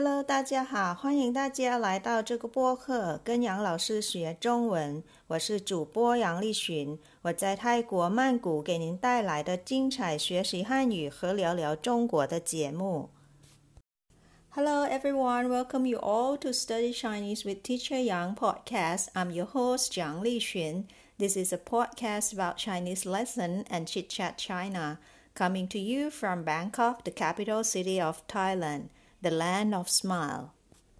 Hello， 大家好，欢迎大家来到这个播客，跟杨老师学中文。我是主播杨丽群，我在泰国曼谷给您带来的精彩学习汉语和聊聊中国的节目。Hello everyone, welcome you all to Study Chinese with Teacher Yang podcast. I'm your host, Yang Lixun. This is a podcast about Chinese lesson and Chit Chat China, coming to you from Bangkok, the capital city of Thailand, the land of smile.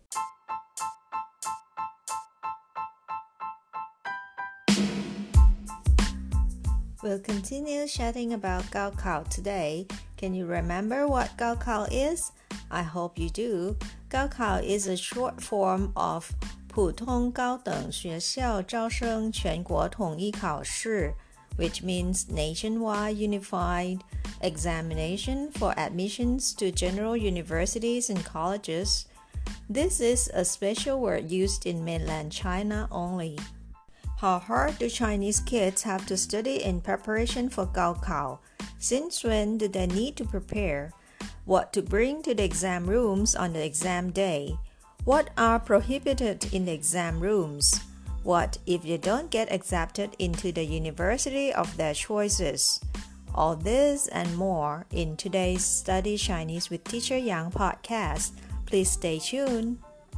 We'll continue chatting about Gaokao today. Can you remember what Gaokao is? I hope you do. Gaokao is a short form of 普通高等学校招生全国统一考试, which means nationwide unified examination for admissions to general universities and colleges. This is a special word used in mainland China only. How hard do Chinese kids have to study in preparation for Gaokao? Since when do they need to prepare? What to bring to the exam rooms on the exam day? What are prohibited in the exam rooms? What if they don't get accepted into the university of their choices? All this and more in today's Study Chinese with Teacher Yang podcast. Please stay tuned.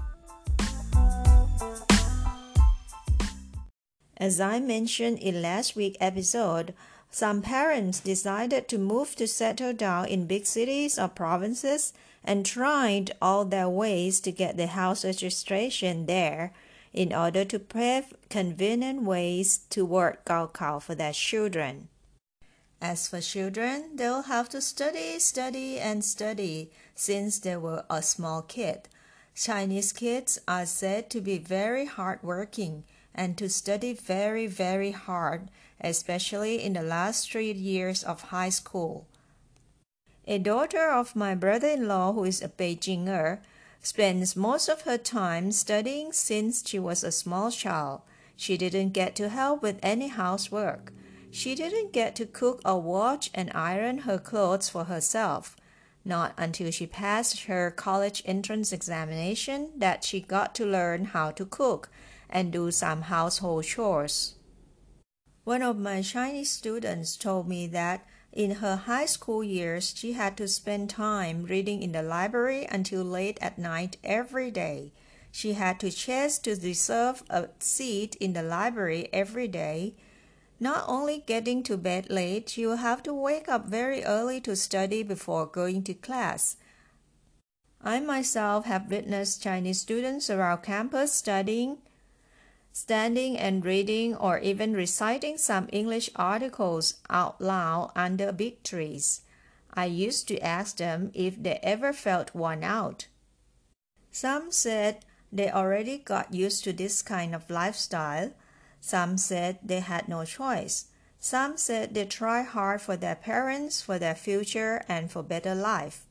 As I mentioned in last week's episode, some parents decided to move to settle down in big cities or provinces and tried all their ways to get the house registration there in order to pave convenient ways to work Gaokao for their children. As for children, they'll have to study since they were a small kid. Chinese kids are said to be very hardworking and to study very, very hard, especially in the last 3 years of high school. A daughter of my brother-in-law, who is a Beijinger, spends most of her time studying since she was a small child. She didn't get to help with any housework. She didn't get to cook or wash and iron her clothes for herself. Not until she passed her college entrance examination that she got to learn how to cook and do some household chores. One of my Chinese students told me that in her high school years, she had to spend time reading in the library until late at night every day. She had to chase to reserve a seat in the library every day. Not only getting to bed late, she will have to wake up very early to study before going to class. I myself have witnessed Chinese students around campus studying, standing and reading, or even reciting some English articles out loud under big trees. I used to ask them if they ever felt worn out. Some said they already got used to this kind of lifestyle. Some said they had no choice. Some said they try hard for their parents, for their future, and for better life.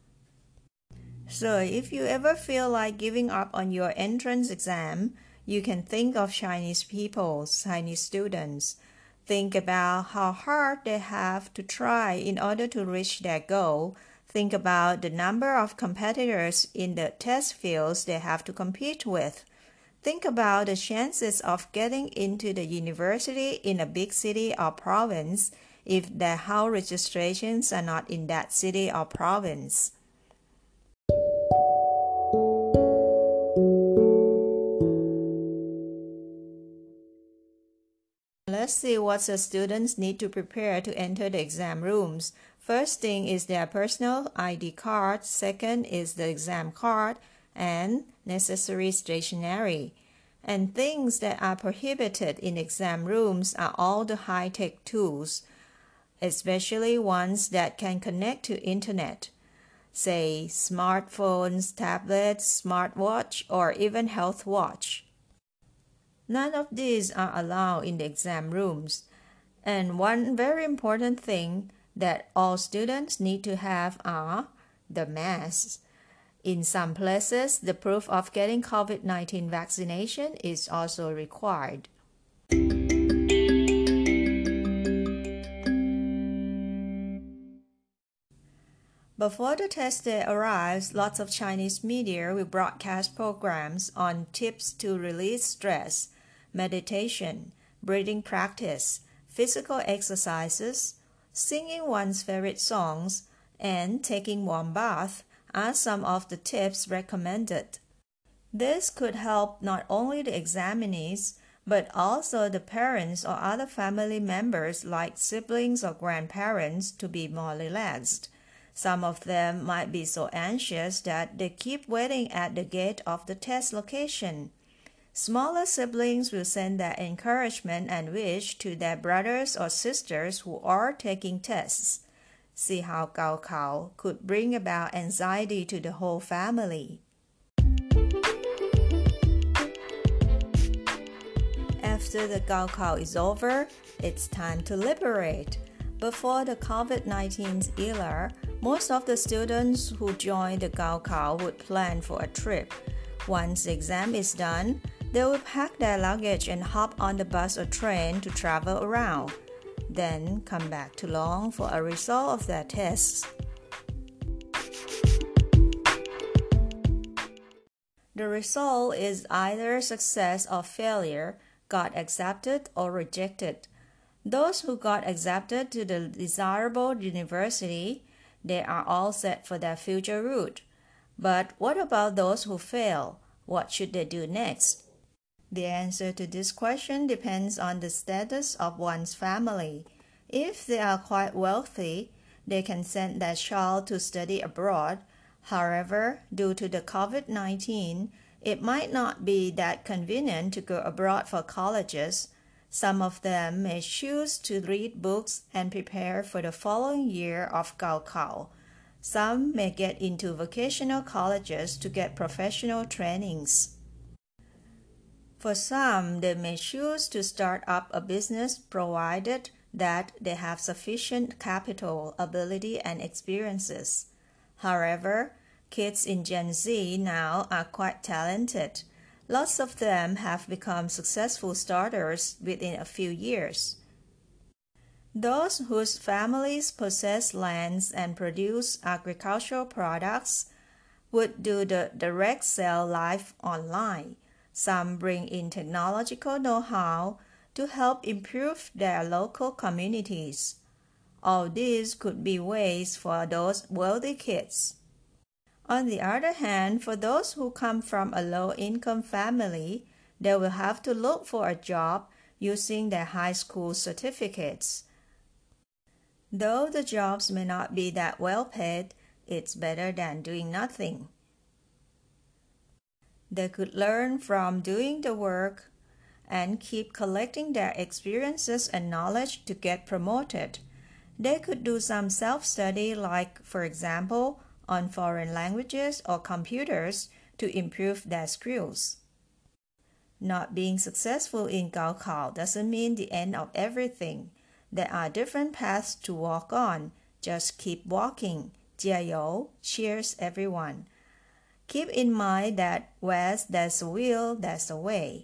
So if you ever feel like giving up on your entrance exam, you can think of Chinese people, Chinese students. Think about how hard they have to try in order to reach their goal. Think about the number of competitors in the test fields they have to compete with. Think about the chances of getting into the university in a big city or province if their house registrations are not in that city or province. Let's see what the students need to prepare to enter the exam rooms. First thing is their personal ID card. Second is the exam card and necessary stationery. And things that are prohibited in exam rooms are all the high-tech tools, especially ones that can connect to internet. Say smartphones, tablets, smartwatch, or even health watch. None of these are allowed in the exam rooms. And one very important thing that all students need to have are the masks. In some places, the proof of getting COVID-19 vaccination is also required. Before the test day arrives, lots of Chinese media will broadcast programs on tips to release stress, meditation, breathing practice, physical exercises, singing one's favorite songs, and taking warm bath are some of the tips recommended. This could help not only the examinees, but also the parents or other family members like siblings or grandparents to be more relaxed. Some of them might be so anxious that they keep waiting at the gate of the test location. Smaller siblings will send their encouragement and wish to their brothers or sisters who are taking tests. See how Gaokao could bring about anxiety to the whole family. After the Gaokao is over, it's time to liberate. Before the COVID-19 era, most of the students who joined the Gaokao would plan for a trip. Once the exam is done, they will pack their luggage and hop on the bus or train to travel around, then come back to Long for a result of their tests. The result is either success or failure, got accepted or rejected. Those who got accepted to the desirable university, they are all set for their future route. But what about those who fail? What should they do next? The answer to this question depends on the status of one's family. If they are quite wealthy, they can send their child to study abroad. However, due to the COVID-19, it might not be that convenient to go abroad for colleges. Some of them may choose to read books and prepare for the following year of Gaokao. Some may get into vocational colleges to get professional trainings. For some, they may choose to start up a business provided that they have sufficient capital, ability, and experiences. However, kids in Gen Z now are quite talented. Lots of them have become successful starters within a few years. Those whose families possess lands and produce agricultural products would do the direct sell live online. Some bring in technological know-how to help improve their local communities. All these could be ways for those wealthy kids. On the other hand, for those who come from a low-income family, they will have to look for a job using their high school certificates. Though the jobs may not be that well paid, it's better than doing nothing. They could learn from doing the work and keep collecting their experiences and knowledge to get promoted. They could do some self-study, like, for example, on foreign languages or computers to improve their skills. Not being successful in Gaokao doesn't mean the end of everything. There are different paths to walk on. Just keep walking. 加油! Cheers, everyone. Keep in mind that where there's a will, there's a way.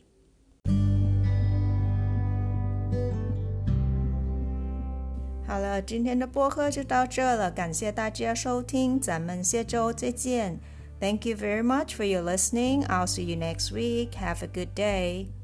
好了，今天的播客就到这了，感谢大家收听，咱们下周再见。Thank you very much for your listening. I'll see you next week. Have a good day.